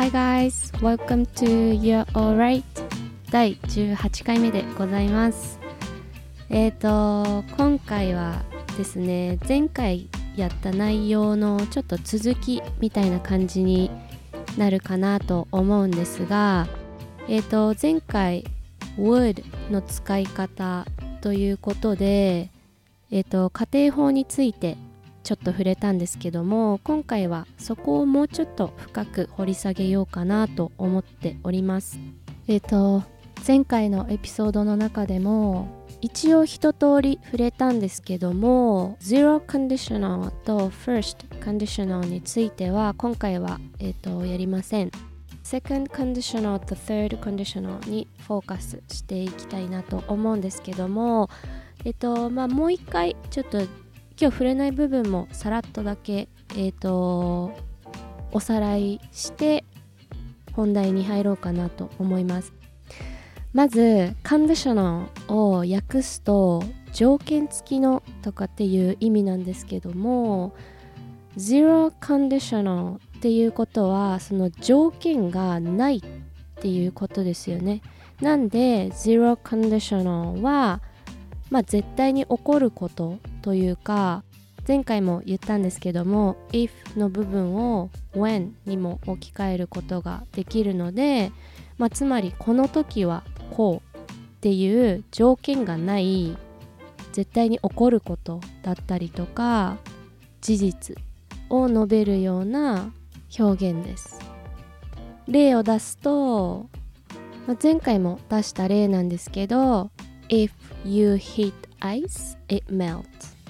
Hi guys, welcome to You're Alright 第18回目でございます。今回はですね、前回やった内容のちょっと続きみたいな感じになるかなと思うんですが、前回 would の使い方ということで、家庭法についてちょっと触れたんですけども、今回はそこをもうちょっと深く掘り下げようかなと思っております。前回のエピソードの中でも一応一通り触れたんですけども、Zero Conditional と First Conditional については今回は、やりません。Second Conditional と Third Conditional にフォーカスしていきたいなと思うんですけども、もう一回ちょっと今日触れない部分もさらっとだけ、おさらいして本題に入ろうかなと思います。まず conditional を訳すと条件付きのとかっていう意味なんですけども、 zero conditional っていうことはその条件がないっていうことですよね。なんで zero conditional は絶対に起こることというか、前回も言ったんですけども if の部分を when にも置き換えることができるので、つまりこの時はこうっていう条件がない絶対に起こることだったりとか事実を述べるような表現です。例を出すと、前回も出した例なんですけど、If you heat ice, it melts.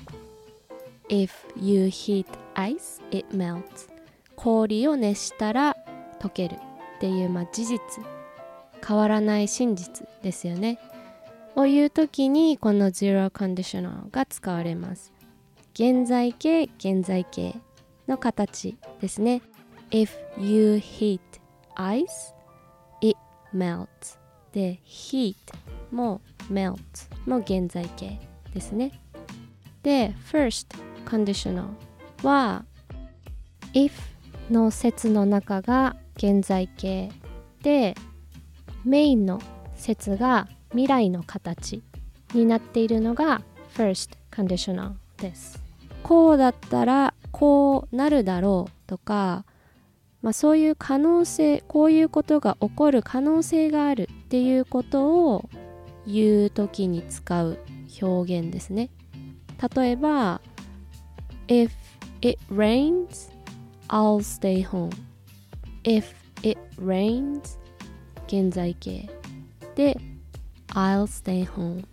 If you heat ice, it melts. 氷を熱したら溶けるっていう、事実、変わらない真実ですよね。を言うときにこの zero conditional が使われます。現在形、現在形の形ですね。If you heat ice, it melts. で、heat も melt も現在形ですね。で、first conditional は if の説の中が現在形で、メインの説が未来の形になっているのが first conditional です。こうだったらこうなるだろうとか、そういう可能性、こういうことが起こる可能性があるっていうことを言うときに使う表現ですね。例えば If it rains, I'll stay home. If it rains 現在形で I'll stay home。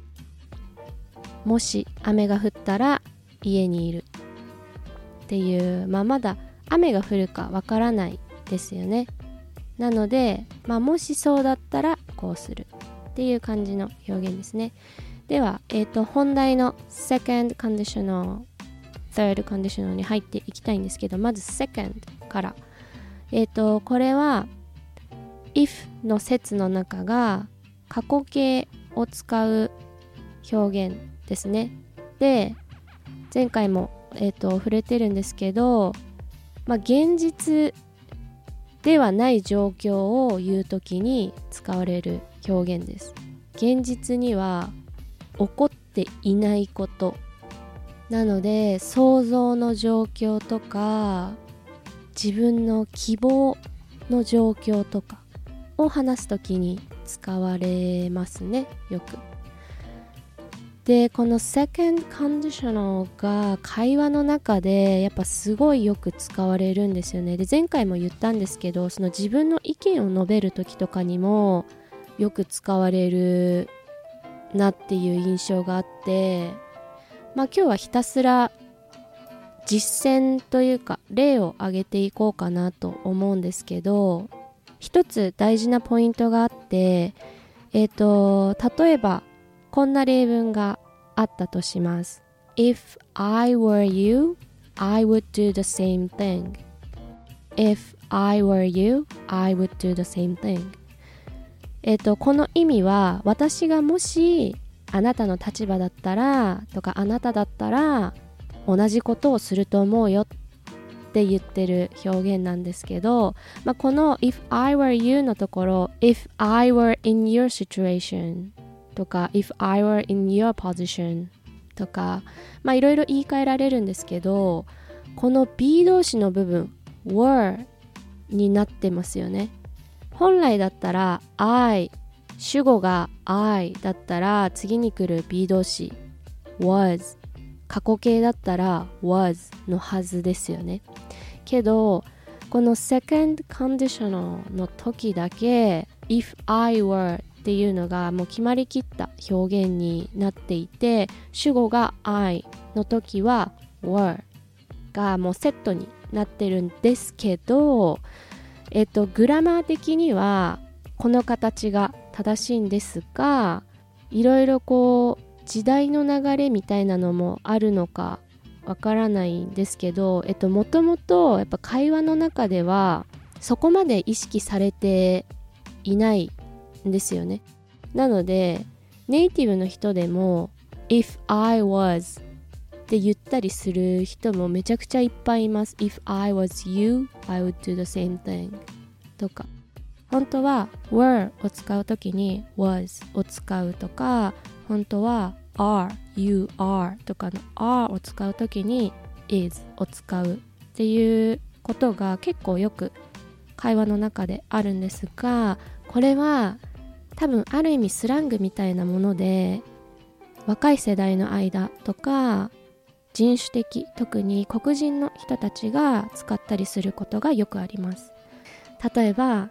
もし雨が降ったら家にいるっていう、まだ雨が降るかわからないですよね。なので、もしそうだったらこうするっていう感じの表現ですね。では、本題の second conditional third conditional に入っていきたいんですけど、まず second から、これは if の説の中が過去形を使う表現ですね。で、前回も、触れてるんですけど、現実ではない状況を言うときに使われる表現です。現実には起こっていないことなので、想像の状況とか自分の希望の状況とかを話すときに使われますね、よく。で、この second conditional が会話の中でやっぱすごいよく使われるんですよね。で、前回も言ったんですけど、その自分の意見を述べるときとかにもよく使われるなっていう印象があって、今日はひたすら実践というか例を挙げていこうかなと思うんですけど、一つ大事なポイントがあって、例えばこんな例文があったとします。 If I were you, I would do the same thing. If I were you, I would do the same thing. この意味は、私がもしあなたの立場だったらとか、あなただったら同じことをすると思うよっって言ってる表現なんですけど、この if I were you のところ if I were in your situation とか if I were in your position とかいろいろ言い換えられるんですけど、この be 動詞の部分 were になってますよね。本来だったら I 主語が I だったら次に来る be 動詞 was、 過去形だったら was のはずですよね。けどこの second conditional の時だけ if I were っていうのがもう決まりきった表現になっていて、主語が I の時は were がもうセットになってるんですけど、グラマー的にはこの形が正しいんですが、いろいろこう時代の流れみたいなのもあるのかわからないんですけど、もともとやっぱ会話の中ではそこまで意識されていないんですよね。なのでネイティブの人でも If I was って言ったりする人もめちゃくちゃいっぱいいます。 If I was you, I would do the same thing とか、本当は were を使うときに was を使うとか、本当は are, you are とかの are を使うときに is を使うっていうことが結構よく会話の中であるんですが、これは多分ある意味スラングみたいなもので、若い世代の間とか人種的、特に黒人の人たちが使ったりすることがよくあります。例えば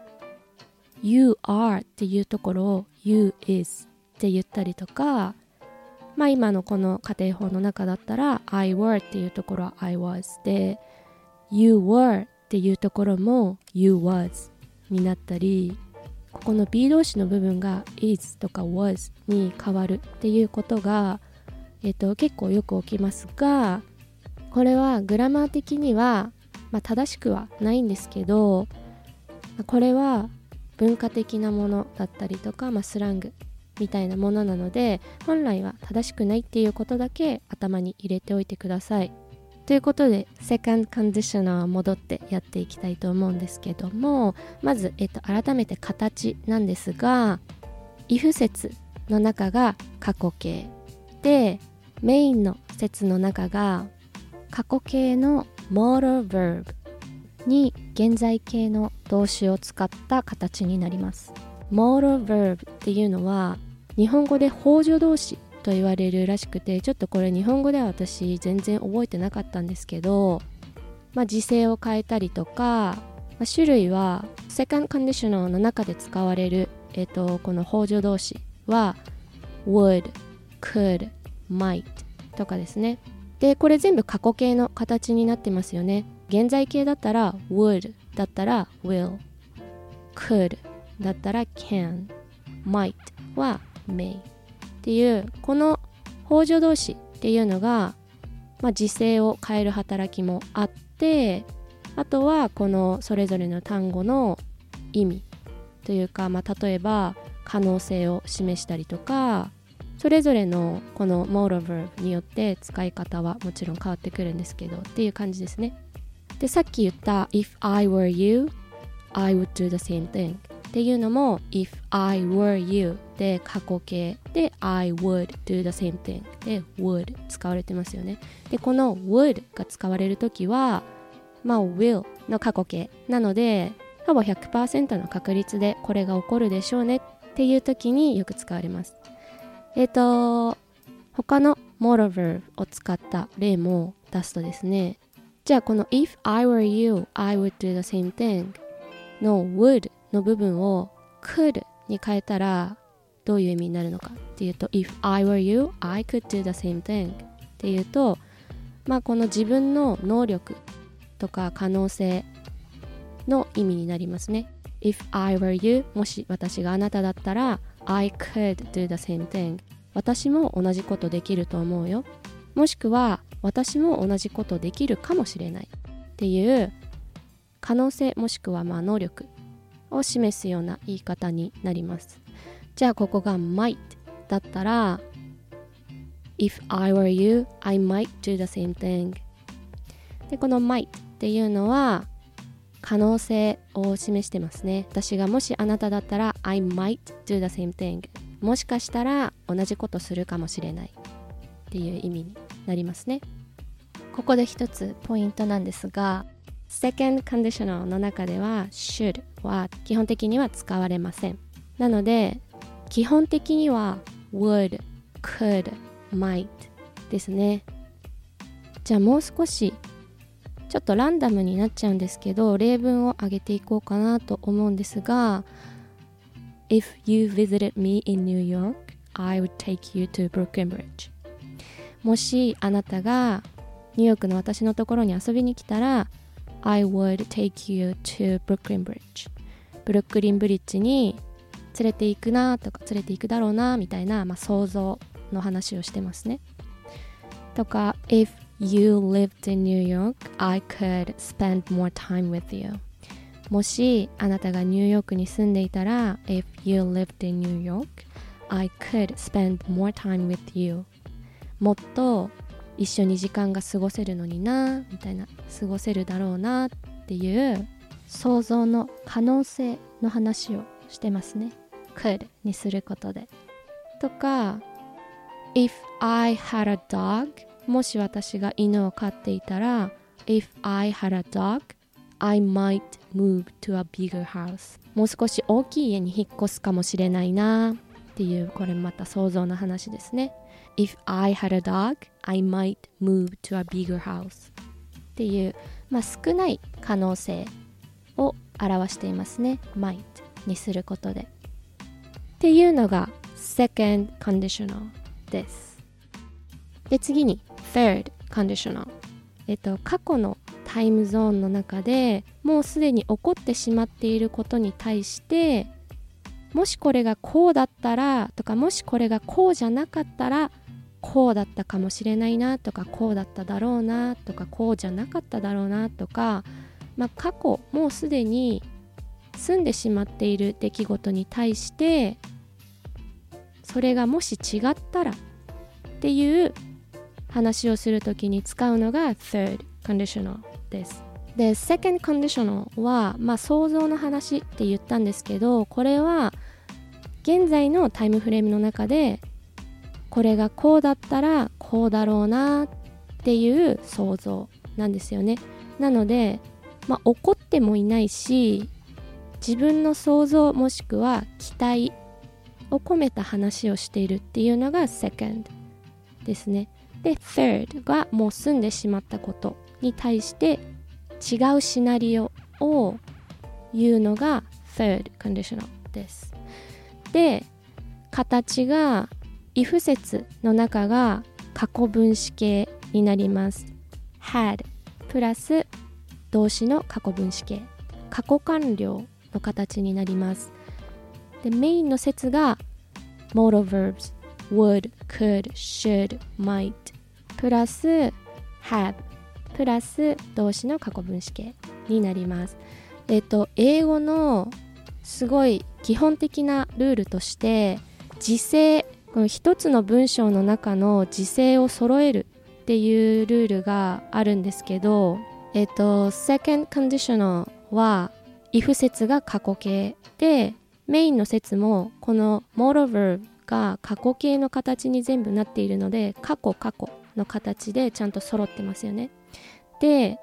You are っていうところを You is って言ったりとか、今のこの家庭法の中だったら I were っていうところは I was で、 You were っていうところも You was になったり、ここの be 動詞の部分が is とか was に変わるっていうことが、結構よく起きますが、これはグラマー的には、正しくはないんですけど、これは文化的なものだったりとか、スラングみたいなものなので、本来は正しくないっていうことだけ頭に入れておいてください。ということでセカンドコンディショナー戻ってやっていきたいと思うんですけども、まず、改めて形なんですが、if 節の中が過去形で、メインの節の中が過去形の modal verb に現在形の動詞を使った形になります。modal verb っていうのは日本語で補助動詞と言われるらしくて、ちょっとこれ日本語では私全然覚えてなかったんですけど、時制を変えたりとか、種類はセカンドコンディショナルの中で使われる、この補助動詞は would, could, might とかですね。でこれ全部過去形の形になってますよね。現在形だったら would だったら will、 could だったら can、 might は may っていう、この補助動詞っていうのが、時制を変える働きもあって、あとはこのそれぞれの単語の意味というか、例えば可能性を示したりとか、それぞれのこの modal verb によって使い方はもちろん変わってくるんですけどっていう感じですね。でさっき言った If I were you, I would do the same thing っていうのも If I were you で過去形で I would do the same thing で would 使われてますよね。でこの would が使われるときはwill の過去形なので、ほぼ 100% の確率でこれが起こるでしょうねっていう時によく使われます。他の modal verb を使った例も出すとですね、じゃあこの If I were you, I would do the same thing の would の部分を could に変えたらどういう意味になるのかっていうと、 If I were you, I could do the same thing っていうと、この自分の能力とか可能性の意味になりますね。 If I were you、 もし私があなただったらI could do the same thing、 私も同じことできると思うよ、もしくは私も同じことできるかもしれないっていう可能性、もしくは能力を示すような言い方になります。じゃあここが might だったら If I were you, I might do the same thing。 でこの might っていうのは可能性を示してますね。私がもしあなただったら I might do the same thing、 もしかしたら同じことするかもしれないっていう意味になりますね。ここで一つポイントなんですが、second conditional の中では should は基本的には使われません。なので基本的には would, could, might ですね。じゃあもう少しちょっとランダムになっちゃうんですけど、例文を挙げていこうかなと思うんですが、 If you visited me in New York, I would take you to Brooklyn Bridge。 もしあなたがニューヨークの私のところに遊びに来たら I would take you to Brooklyn Bridge。 ブルックリンブリッジに連れて行くなとか連れて行くだろうなみたいな、想像の話をしてますね。とか If you lived in New York, I could spend more time with you。 もしあなたがニューヨークに住んでいたら If you lived in New York, I could spend more time with you。 もっと一緒に時間が過ごせるのになみたいな、過ごせるだろうなっていう想像の可能性の話をしてますね。 could にすることで。とか If I had a dog、もし私が犬を飼っていたら If I had a dog, I might move to a bigger house。 もう少し大きい家に引っ越すかもしれないなっていう、これまた想像の話ですね。 If I had a dog, I might move to a bigger house っていう、少ない可能性を表していますね。 might にすることでっていうのが second conditional です。で次にthird conditional、過去のタイムゾーンの中でもうすでに起こってしまっていることに対して、もしこれがこうだったらとか、もしこれがこうじゃなかったらこうだったかもしれないなとか、こうだっただろうなとか、こうじゃなかっただろうなとか、過去もうすでに済んでしまっている出来事に対してそれがもし違ったらっていう話をするときに使うのが third conditional です。で second conditional は、想像の話って言ったんですけど、これは現在のタイムフレームの中でこれがこうだったらこうだろうなっていう想像なんですよね。なので、起こってもいないし、自分の想像もしくは期待を込めた話をしているっていうのが second ですね。で third がもう済んでしまったことに対して違うシナリオを言うのが third conditional です。で形が if 節の中が過去分詞形になります。 had プラス動詞の過去分詞形、過去完了の形になります。でメインの節が modal verbs would, could, should, might プラス have プラス動詞の過去分詞形になります。英語のすごい基本的なルールとして時制、この一つの文章の中の時制を揃えるっていうルールがあるんですけど、second conditional は if 節が過去形で、メインの節もこの modal verb が過去形の形に全部なっているので、過去の形でちゃんと揃ってますよね。で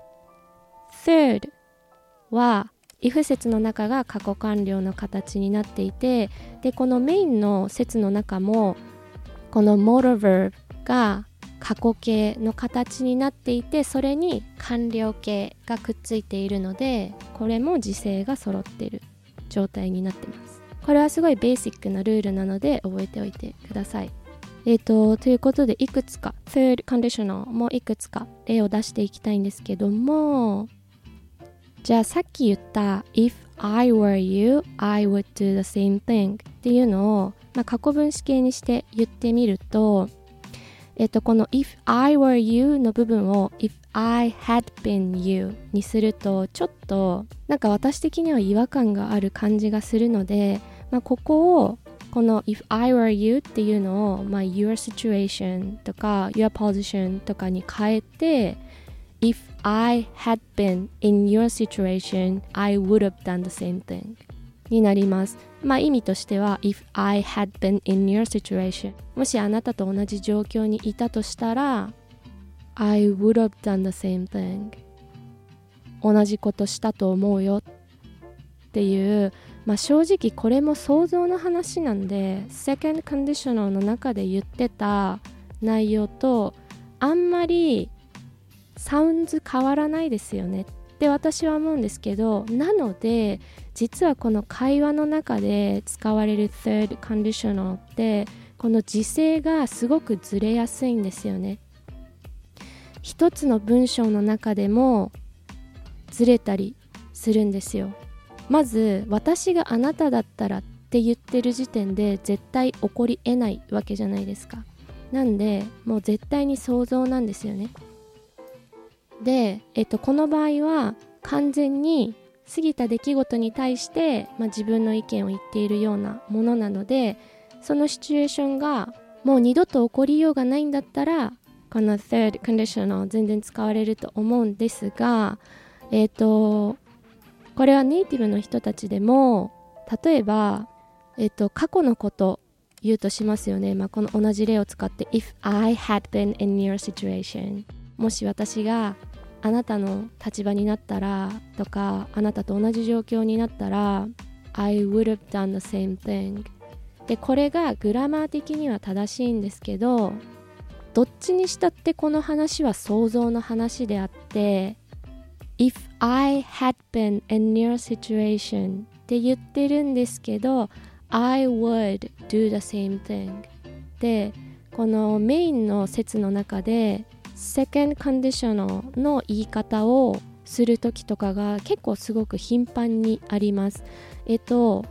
third は if 節の中が過去完了の形になっていて、でこのメインの節の中もこの modal verb が過去形の形になっていて、それに完了形がくっついているので、これも時制が揃っている状態になってます。これはすごいベーシックなルールなので覚えておいてください。ということでいくつか third conditional もいくつか例を出していきたいんですけども、じゃあさっき言った If I were you, I would do the same thing っていうのを、過去分詞形にして言ってみると、この If I were you の部分を If I had been you にするとちょっと私的には違和感がある感じがするので、ここをこの If I were you っていうのを、Your situation とか Your position とかに変えて If I had been in your situation, I would have done the same thing になります。意味としては If I had been in your situation もしあなたと同じ状況にいたとしたら I would have done the same thing 同じことしたと思うよっていう、正直これも想像の話なんで Second Conditional の中で言ってた内容とあんまりサウンズ変わらないですよねって私は思うんですけど、なので実はこの会話の中で使われる Third Conditional ってこの時制がすごくずれやすいんですよね。一つの文章の中でもずれたりするんですよ。まず私があなただったらって言ってる時点で絶対起こり得ないわけじゃないですか。なんでもう絶対に想像なんですよね。で、この場合は完全に過ぎた出来事に対して、自分の意見を言っているようなものなので、そのシチュエーションがもう二度と起こりようがないんだったらこの Third Conditional 全然使われると思うんですが、これはネイティブの人たちでも例えば、過去のこと言うとしますよね。この同じ例を使って If I had been in your situation もし私があなたの立場になったらとかあなたと同じ状況になったら I would have done the same thing で、これがグラマー的には正しいんですけど、どっちにしたってこの話は想像の話であって、If I had been in your situation って言ってるんですけど I would do the same thing で、このメインの説の中でSecond Conditional の言い方をするときとかが結構すごく頻繁にあります。Mixed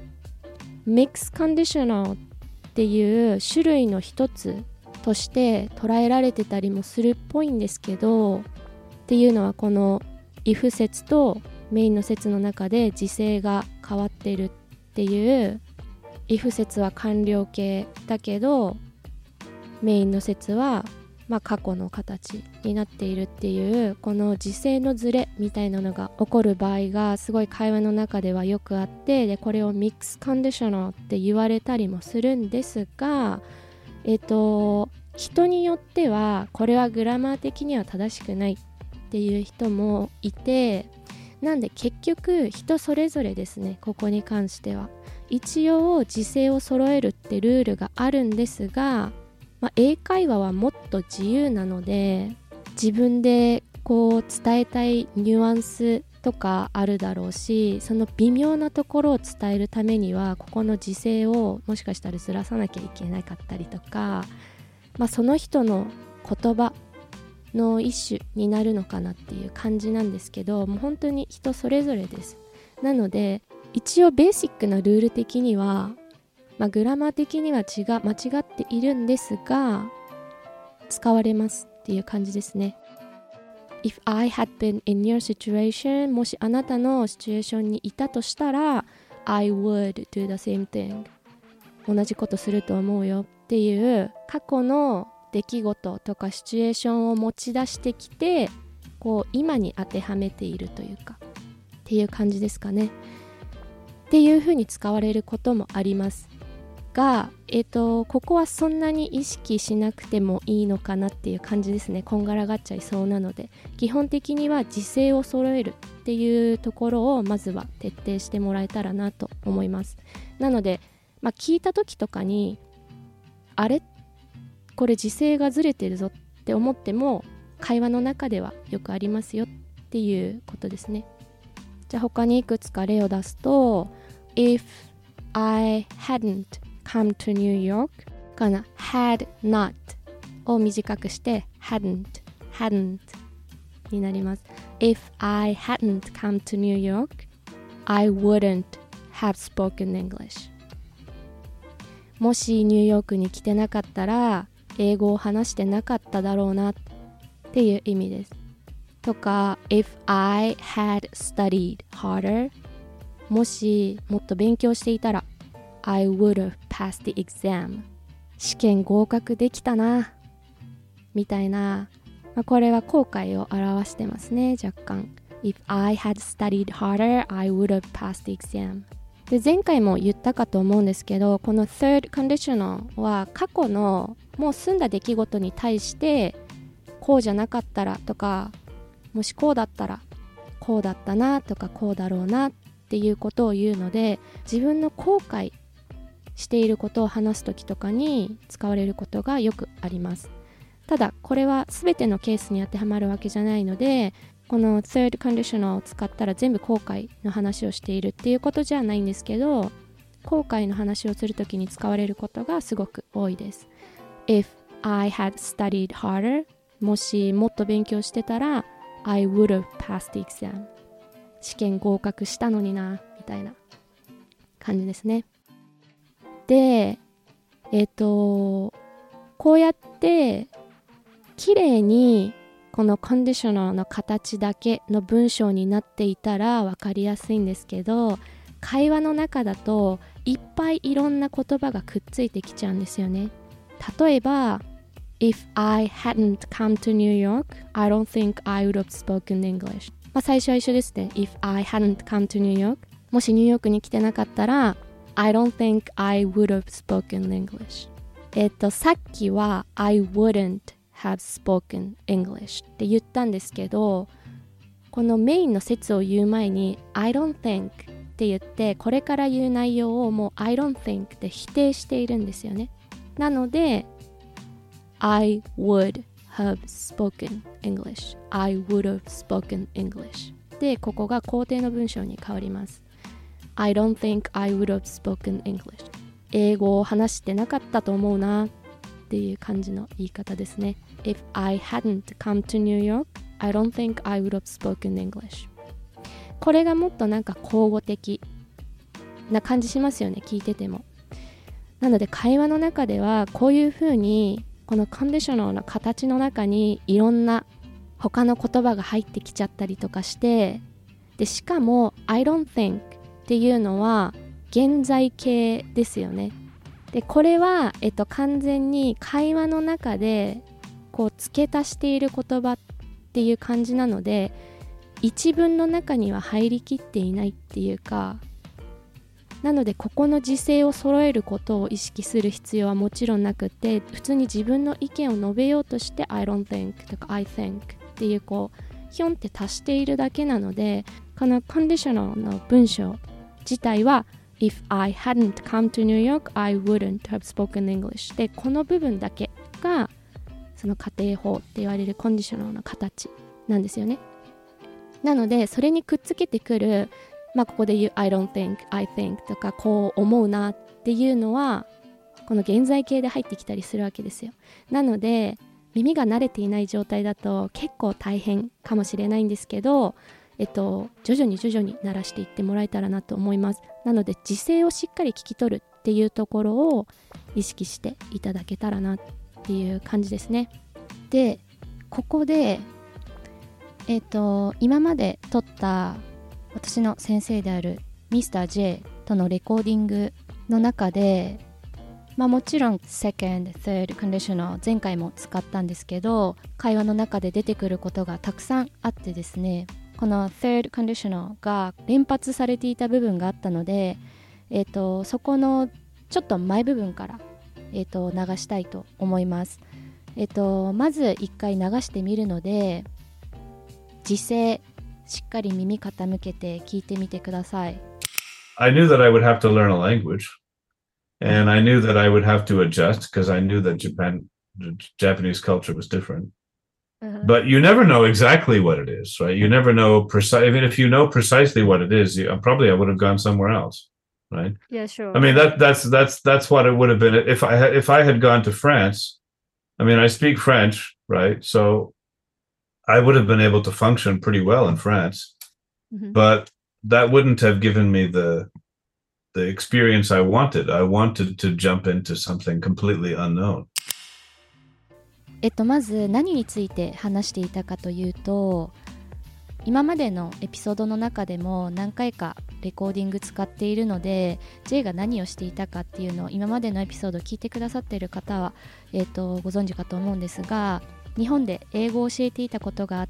Conditional っていう種類の一つとして捉えられてたりもするっぽいんですけど、っていうのはこの if 説とメインの説の中で時制が変わってるっていう、 if 説は完了形だけどメインの説は過去の形になっているっていう、この時制のズレみたいなのが起こる場合がすごい会話の中ではよくあって、でこれをミックスコンディショナルって言われたりもするんですが、人によってはこれはグラマー的には正しくないっていう人もいて、なんで結局人それぞれですね。ここに関しては一応時制を揃えるってルールがあるんですが、英会話はもっと自由なので自分でこう伝えたいニュアンスとかあるだろうし、その微妙なところを伝えるためにはここの時制をもしかしたらずらさなきゃいけなかったりとか、その人の言葉の一種になるのかなっていう感じなんですけど、もう本当に人それぞれです。なので一応ベーシックなルール的にはグラマー的には間違っているんですが使われますっていう感じですね。 If I had been in your situation もしあなたのシチュエーションにいたとしたら I would do the same thing 同じことすると思うよっていう過去の出来事とかシチュエーションを持ち出してきて、こう今に当てはめているというかっていう感じですかね。っていう風に使われることもありますが、ここはそんなに意識しなくてもいいのかなっていう感じですね。こんがらがっちゃいそうなので、基本的には時制を揃えるっていうところをまずは徹底してもらえたらなと思います。なので、聞いた時とかにあれこれ時制がずれてるぞって思っても会話の中ではよくありますよっていうことですね。じゃあ他にいくつか例を出すと If I hadn't come to New York かな had not を短くして hadn't になります。 If I hadn't come to New York I wouldn't have spoken English もしニューヨークに来てなかったら英語を話してなかっただろうなっていう意味です。とか If I had studied harder もしもっと勉強していたら I would have passed the exam 試験合格できたなみたいなこれは後悔を表してますね、若干。If I had studied harder, I would have passed the exam. で、前回も言ったかと思うんですけど、この third conditional は過去のもう済んだ出来事に対してこうじゃなかったらとか、もしこうだったらこうだったなとかこうだろうなっていうことを言うので、自分の後悔していることを話すときとかに使われることがよくあります。ただこれは全てのケースに当てはまるわけじゃないので、この third conditional を使ったら全部後悔の話をしているっていうことじゃないんですけど、後悔の話をするときに使われることがすごく多いです。 If I had studied harder、 もしもっと勉強してたら I would have passed the exam、 試験合格したのになみたいな感じですね。で、こうやって綺麗にこのコンディショナルの形だけの文章になっていたら分かりやすいんですけど、会話の中だといっぱいいろんな言葉がくっついてきちゃうんですよね。例えば If I hadn't come to New York, I don't think I would have spoken English。最初は一緒ですね。 If I hadn't come to New York、 もしニューヨークに来てなかったら I don't think I would have spoken English。さっきは I wouldn't have spoken English って言ったんですけど、このメインの説を言う前に I don't think って言って、これから言う内容をもう I don't think で否定しているんですよね。なので I would have spoken English、 I would have spoken English で、ここが肯定の文章に変わります。 I don't think I would have spoken English、 英語を話してなかったと思うなっていう感じの言い方ですね。 If I hadn't come to New York, I don't think I would have spoken English。 これがもっとなんか口語的な感じしますよね、聞いてても。なので会話の中ではこういう風にこのコンディショナルの形の中にいろんな他の言葉が入ってきちゃったりとかして、でしかも I don't think っていうのは現在形ですよね。でこれは、完全に会話の中でこう付け足している言葉っていう感じなので、一文の中には入りきっていないっていうか、なのでここの時制を揃えることを意識する必要はもちろんなくて、普通に自分の意見を述べようとして I don't think とか I think っていうこうヒョンって足しているだけなので、このコンディショナルの文章自体はIf I hadn't come to New York, I wouldn't have spoken English で、この部分だけがその仮定法って言われるコンディショナルの形なんですよね。なのでそれにくっつけてくる、ここで言う I don't think, I think とかこう思うなっていうのはこの現在形で入ってきたりするわけですよ。なので耳が慣れていない状態だと結構大変かもしれないんですけど、徐々に慣らしていってもらえたらなと思います。なので時制をしっかり聞き取るっていうところを意識していただけたらなっていう感じですね。で、ここで今まで撮った私の先生である Mr.J とのレコーディングの中で、もちろん second, third conditional 前回も使ったんですけど、会話の中で出てくることがたくさんあってですね、この third conditional が連発されていた部分があったので、そこのちょっと前部分から、流したいと思います。まず一回流してみるので、時制しっかり耳傾けて聞いてみてください。 I knew that I would have to learn a language, and I knew that I would have to adjust because I knew that Japanese culture was different. But you never know exactly what it is, right? You never know even if you know precisely what it is, probably I would have gone somewhere else, right? Yeah, sure. I mean that's what it would have been if I had gone to France. I mean, I speak French, right? So I would have been able to function pretty well in France, but that wouldn't have given me the experience I wanted. I wanted to jump into something completely unknown. まず何について話していたかというと、今までのエピソードの中でも何回かレコーディング使っているので、 J が何をしていたかっていうのを今までのエピソードを聞いてくださっている方は、ご存知かと思うんですが、 日本で英語を教えていたことがあって、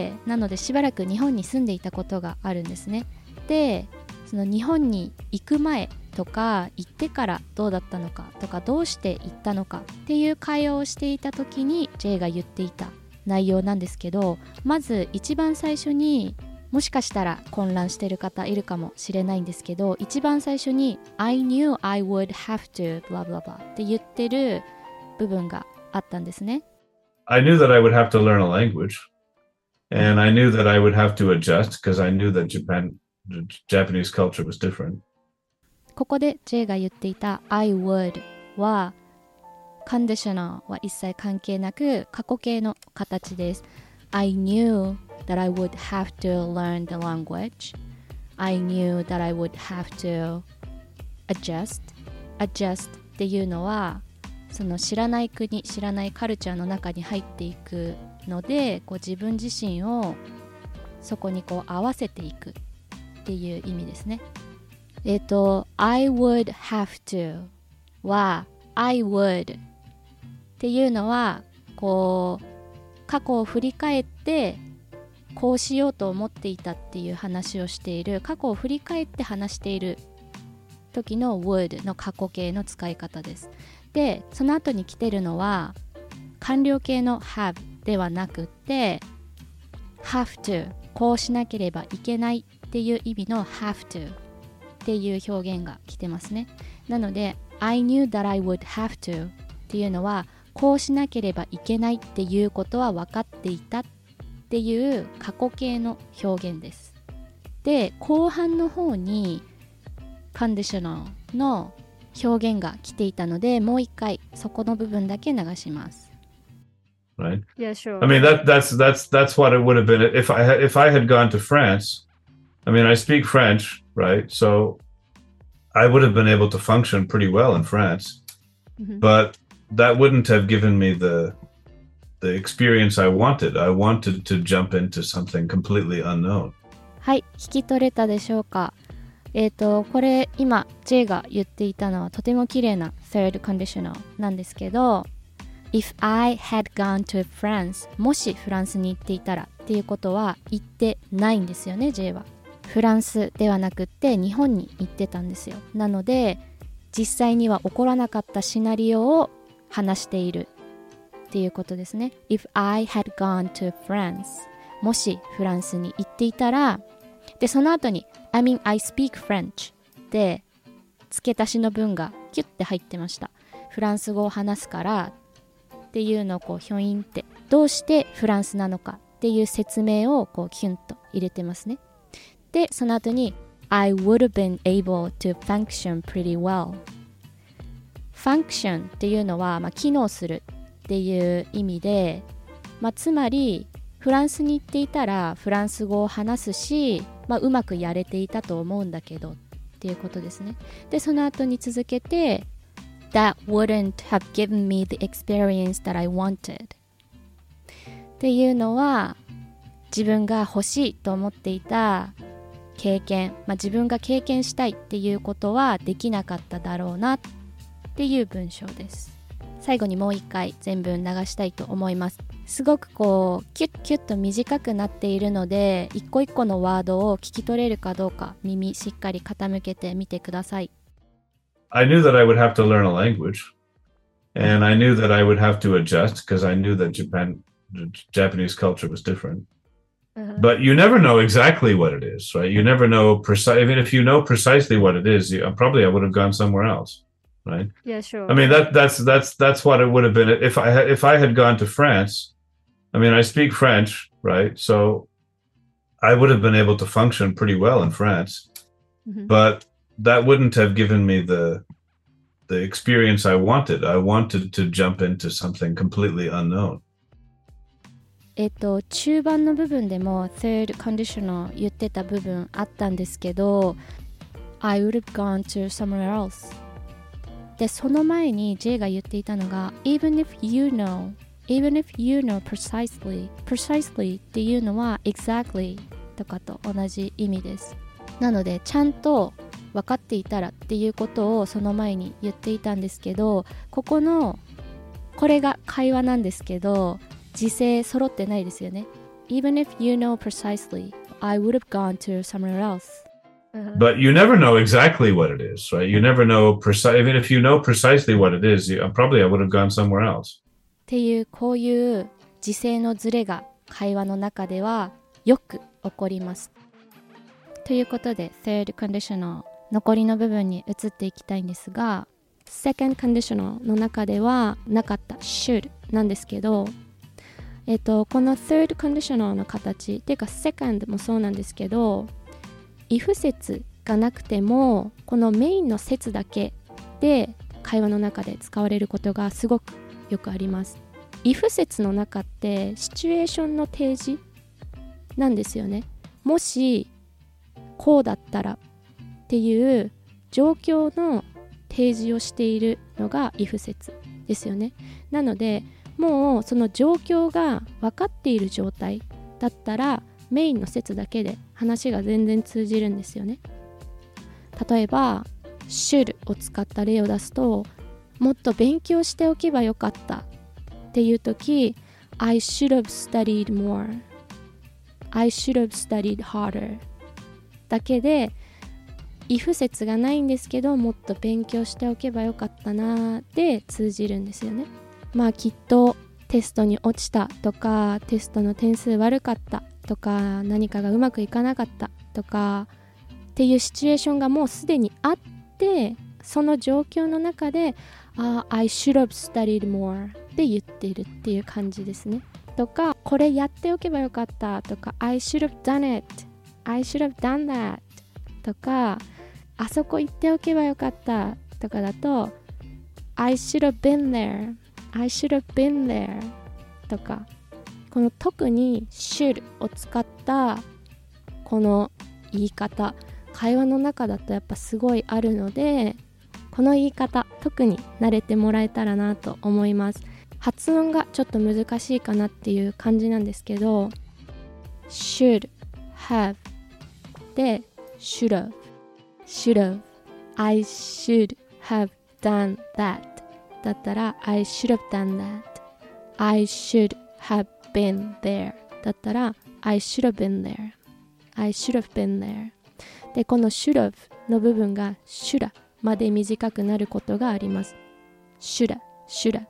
なのでしばらく日本に住んでいたことがあるんですね。で、その日本に行く前とか行ってからどうだったのかとかどうして行ったのかっていう会話をしていた時に J が言っていた内容なんですけど、まず一番最初に、もしかしたら混乱してる方いるかもしれないんですけど、一番最初に I knew I would have to blah blah blah って言ってる部分があったんですね。 I knew that I would have to learn a language, and I knew that I would have to adjust because I knew that Japanese culture was different. ここで J が言っていた I would はconditional は一切関係なく過去形の形です。I knew that I would have to learn the language. I knew that I would have to adjust. Adjust っていうのはその知らない国、知らないカルチャーの中に入っていくので、こう自分自身をそこにこう合わせていくっていう意味ですね。I would have to は I would っていうのはこう過去を振り返ってこうしようと思っていたっていう話をしている、過去を振り返って話している時の would の過去形の使い方です。で、その後に来てるのは完了形の have ではなくってhave to こうしなければいけないっていう意味の have to っていう表現が来てますね。なので I knew that I would have to っていうのはこうしなければいけないっていうことは分かっていたっていう過去形の表現です。で、後半の方に conditional の表現が来ていたので、もう一回そこの部分だけ流します。 Right? Yeah, sure. I mean that's what it would have been if I had gone to France. I mean, I speak French, right? So I would have been able to function pretty well in France, but that wouldn't have given me the experience I wanted. I wanted to jump into something completely unknown. はい、聞き取れたでしょうか。これ今 J が言っていたのはとても綺麗な third conditional なんですけど、If I had gone to France もしフランスに行っていたらっていうことは言ってないんですよね。 J はフランスではなくって日本に行ってたんですよ。なので実際には起こらなかったシナリオを話しているっていうことですね。 If I had gone to France もしフランスに行っていたら、でその後に I mean I speak French で付け足しの文がキュッて入ってました。フランス語を話すからっていうのをこうヒョインってどうしてフランスなのかっていう説明をこうキュンと入れてますね。でその後に I would have been able to function pretty well。 function っていうのは、機能するっていう意味で、つまりフランスに行っていたらフランス語を話すし、うまくやれていたと思うんだけどっていうことですね。でその後に続けて That wouldn't have given me the experience that I wanted っていうのは自分が欲しいと思っていた経験、自分が経験したいっていうことはできなかっただろうなっていう文章です。最後にもう一回全文流したいと思います。すごくこうキュッキュッと短くなっているので、一個一個のワードを聞き取れるかどうか耳しっかり傾けてみてください。 I knew that I would have to learn a language, and I knew that I would have to adjust because I knew that Japanese culture was different. But you never know exactly what it is, right? You never know even if you know precisely what it is, probably I would have gone somewhere else, right? Yeah, sure. I mean that's what it would have been if I had gone to France. I mean, I speak French, right? So I would have been able to function pretty well in France, but that wouldn't have given me the experience I wanted. I wanted to jump into something completely unknown. 中盤の部分でも third conditional 言ってた部分あったんですけど I would have gone to somewhere else でその前に J が言っていたのが even if you know precisely っていうのは exactly とかと同じ意味です。なのでちゃんと分かっていたらっていうことをその前に言っていたんですけど、これが会話なんですけど時制揃ってないですよね。Even if you know precisely, I would have gone to somewhere else.But you never know exactly what it is, right? You never know even if you know precisely what it is, probably I would have gone somewhere else. っていうこういう時制のズレが会話の中ではよく起こります。ということで third conditional 残りの部分に移っていきたいんですが、second conditional の中ではなかった should なんですけど、この third conditional の形っていうか second もそうなんですけど、if 節がなくてもこのメインの節だけで会話の中で使われることがすごくよくあります。if 節の中ってシチュエーションの提示なんですよね。もしこうだったらっていう状況の提示をしているのが if 節ですよね。なのでもうその状況が分かっている状態だったらメインの節だけで話が全然通じるんですよね。例えば should を使った例を出すと、もっと勉強しておけばよかったっていう時 I should have studied more I should have studied harder だけでif 節がないんですけど、もっと勉強しておけばよかったなで通じるんですよね。まあきっとテストに落ちたとか、テストの点数悪かったとか、何かがうまくいかなかったとかっていうシチュエーションがもうすでにあって、その状況の中でI should have studied more って言っているっていう感じですね。とか、これやっておけばよかったとか、I should have done it I should have done that とか、あそこ行っておけばよかったとかだと I should have been there I should have been there とか、この特に should を使ったこの言い方、会話の中だとやっぱすごいあるので、この言い方特に慣れてもらえたらなと思います。発音がちょっと難しいかなっていう感じなんですけど、 should have で should have should have I should have done that だったら I should have done that I should have been there だったら I should have been there I should have been there で、この should have の部分が should まで短くなることがあります。 should should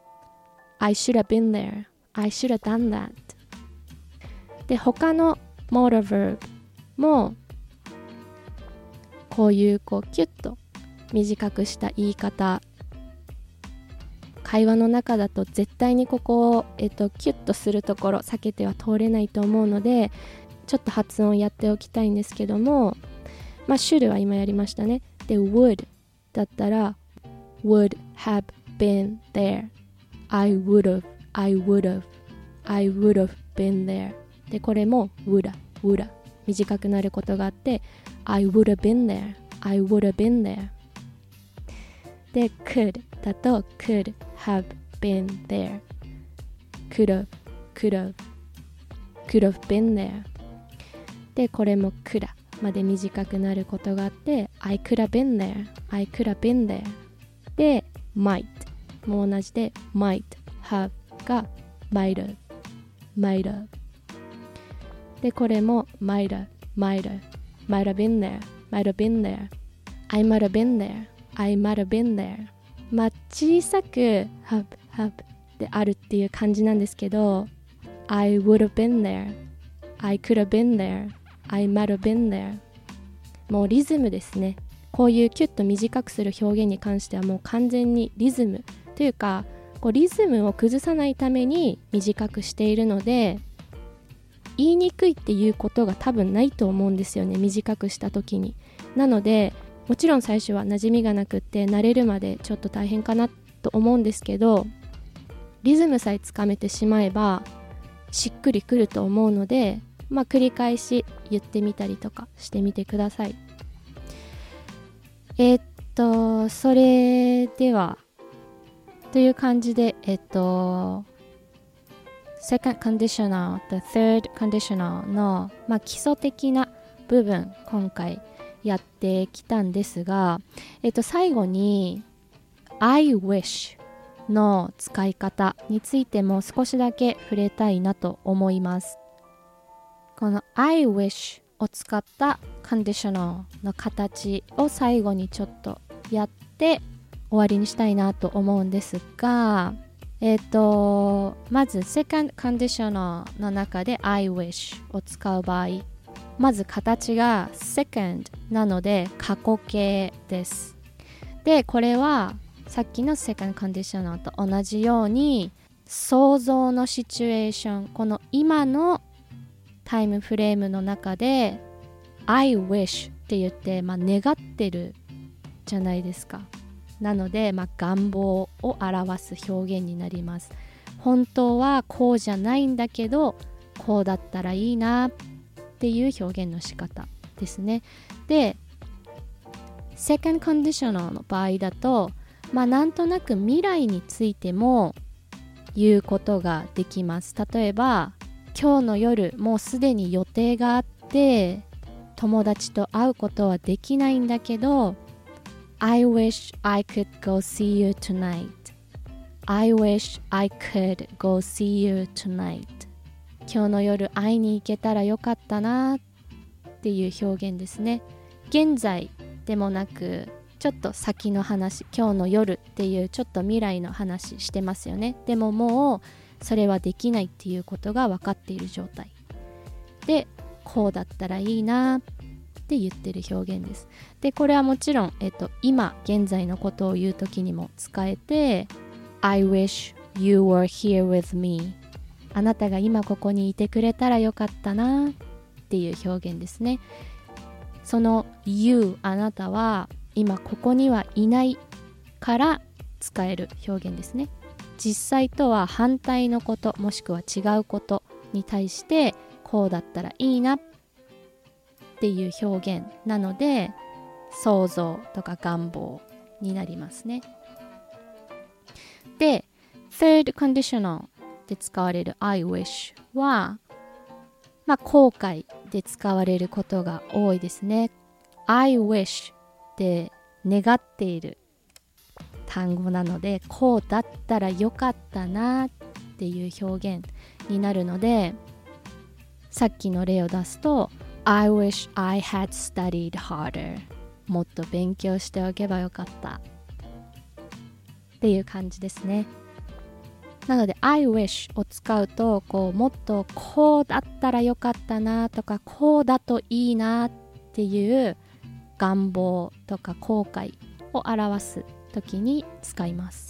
I should have been there I should have done that で、他の modal verb もこういうキュッと短くした言い方、会話の中だと絶対にここを、キュッとするところ避けては通れないと思うので、ちょっと発音やっておきたいんですけども、まあ should は今やりましたね。で would だったら would have been there I would have been there で、これも would 短くなることがあって I would have been there I would have been there で could だと could have been there could have been there で、これも could まで短くなることがあって I could have been thereで might も同じで might have が might have で、これも might have been there I might have been there まあ小さく have であるっていう感じなんですけど、 I would have been there I could have been there I might have been there もうリズムですね。こういうキュッと短くする表現に関してはもう完全にリズムというか、リズムを崩さないために短くしているので、言いにくいっていうことが多分ないと思うんですよね、短くした時に。なのでもちろん最初は馴染みがなくって慣れるまでちょっと大変かなと思うんですけど、リズムさえつかめてしまえばしっくりくると思うので、まあ繰り返し言ってみたりとかしてみてください。それではという感じでsecond conditional to third conditional の、まあ、基礎的な部分今回やってきたんですが、最後に I wish の使い方についても少しだけ触れたいなと思います。この I wish を使ったコンディショナルの形を最後にちょっとやって終わりにしたいなと思うんですが、まず second conditional の中で I wish を使う場合、まず形が second なので過去形です。で、これはさっきの second conditional と同じように想像のシチュエーション、この今のタイムフレームの中で I wish って言って、願ってるじゃないですか。なので、願望を表す表現になります。本当はこうじゃないんだけど、こうだったらいいなっていう表現の仕方ですね。で、second conditional の場合だと、なんとなく未来についても言うことができます。例えば、今日の夜もうすでに予定があって友達と会うことはできないんだけど I wish I could go see you tonight. I wish I could go see you tonight. 今日の夜会いに行けたらよかったなっていう表現ですね。現在でもなくちょっと先の話、今日の夜っていうちょっと未来の話してますよね。でももうそれはできないっていうことが分かっている状態で、こうだったらいいなって言ってる表現です。で、これはもちろん、今現在のことを言うときにも使えて I wish you were here with me. あなたが今ここにいてくれたらよかったなっていう表現ですね。その you あなたは今ここにはいないから使える表現ですね。実際とは反対のこともしくは違うことに対してこうだったらいいなっていう表現なので想像とか願望になりますね。で、third conditional で使われる I wish は後悔で使われることが多いですね。I wish って願っている単語なので、こうだったらよかったなっていう表現になるので、さっきの例を出すと I wish I had studied harder. もっと勉強しておけばよかったっていう感じですね。なので I wish を使うともっとこうだったらよかったなとかこうだといいなっていう願望とか後悔を表す時に使います。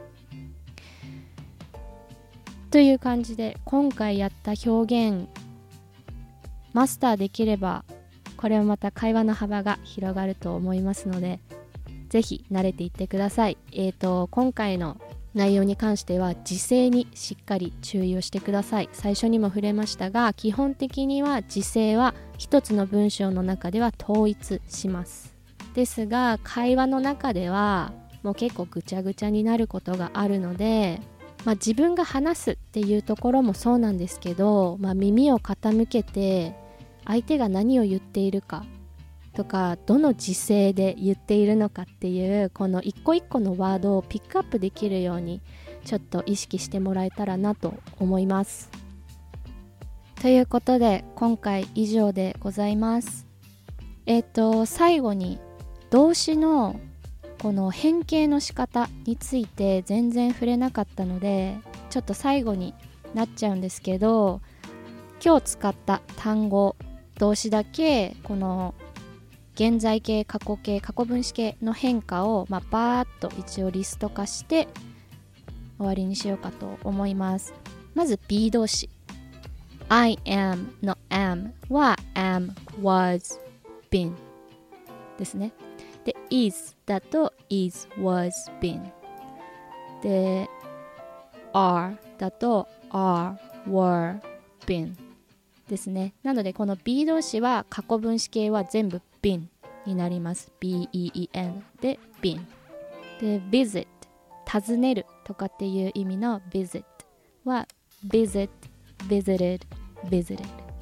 という感じで今回やった表現マスターできればこれはまた会話の幅が広がると思いますので、ぜひ慣れていってください。今回の内容に関しては時制にしっかり注意をしてください。最初にも触れましたが、基本的には時制は一つの文章の中では統一します。ですが会話の中ではもう結構ぐちゃぐちゃになることがあるので、自分が話すっていうところもそうなんですけど、耳を傾けて相手が何を言っているかとかどの時制で言っているのかっていうこの一個一個のワードをピックアップできるようにちょっと意識してもらえたらなと思います。ということで今回以上でございます。最後に動詞のこの変形の仕方について全然触れなかったのでちょっと最後になっちゃうんですけど、今日使った単語動詞だけこの現在形、過去形、過去分詞形の変化をバーッと一応リスト化して終わりにしようかと思います。まず be 動詞 I am の am は am, was, been ですね。で is だと is, was, been で are だと are, were, been ですね。なのでこの be 動詞は過去分詞形は全部 been になります。 B-E-E-N で been で visit 訪ねるとかっていう意味の visit は visit, visited, visited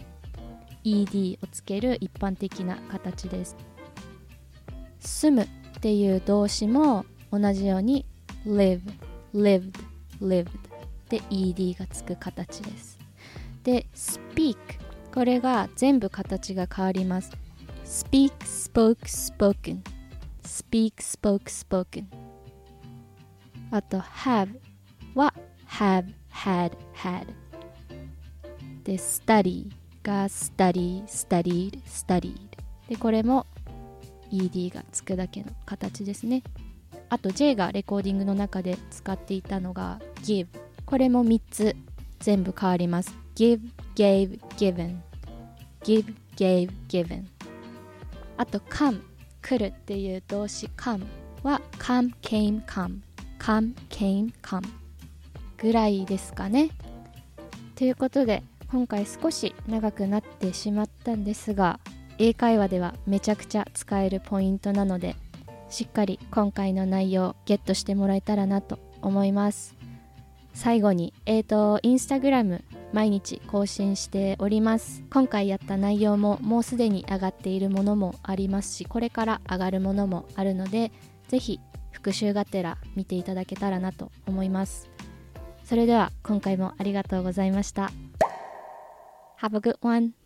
ed をつける一般的な形です。住むっていう動詞も同じように live, lived で ed がつく形です。で speak これが全部形が変わります。 speak spoke spoken speak spoke spoken。 あと have は have had had で study が study studied studied でこれも ed がつくだけの形ですね。あと J がレコーディングの中で使っていたのが give これも3つ全部変わります。 give gave given give gave given。 あと come 来るっていう動詞 come は come came come come came come ぐらいですかね。ということで今回少し長くなってしまったんですが、英会話ではめちゃくちゃ使えるポイントなので、しっかり今回の内容をゲットしてもらえたらなと思います。最後にインスタグラム毎日更新しております。今回やった内容ももうすでに上がっているものもありますし、これから上がるものもあるので、ぜひ復習がてら見ていただけたらなと思います。それでは今回もありがとうございました。Have a good one!